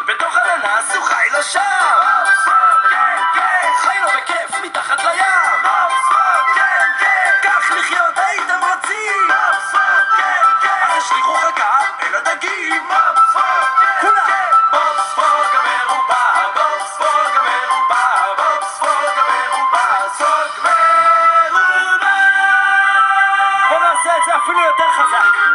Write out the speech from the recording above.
בתוך הננס הוא חי לו שם. חי לו בכיף מתחת לים. כך לחיות הייתם רוצים. אז השליחו חכה אל הדגים. כולם בובספוג המרובע, בובספוג המרובע, בובספוג המרובע, סוג מרובע. בוא נעשה את זה אפילו יותר חזק.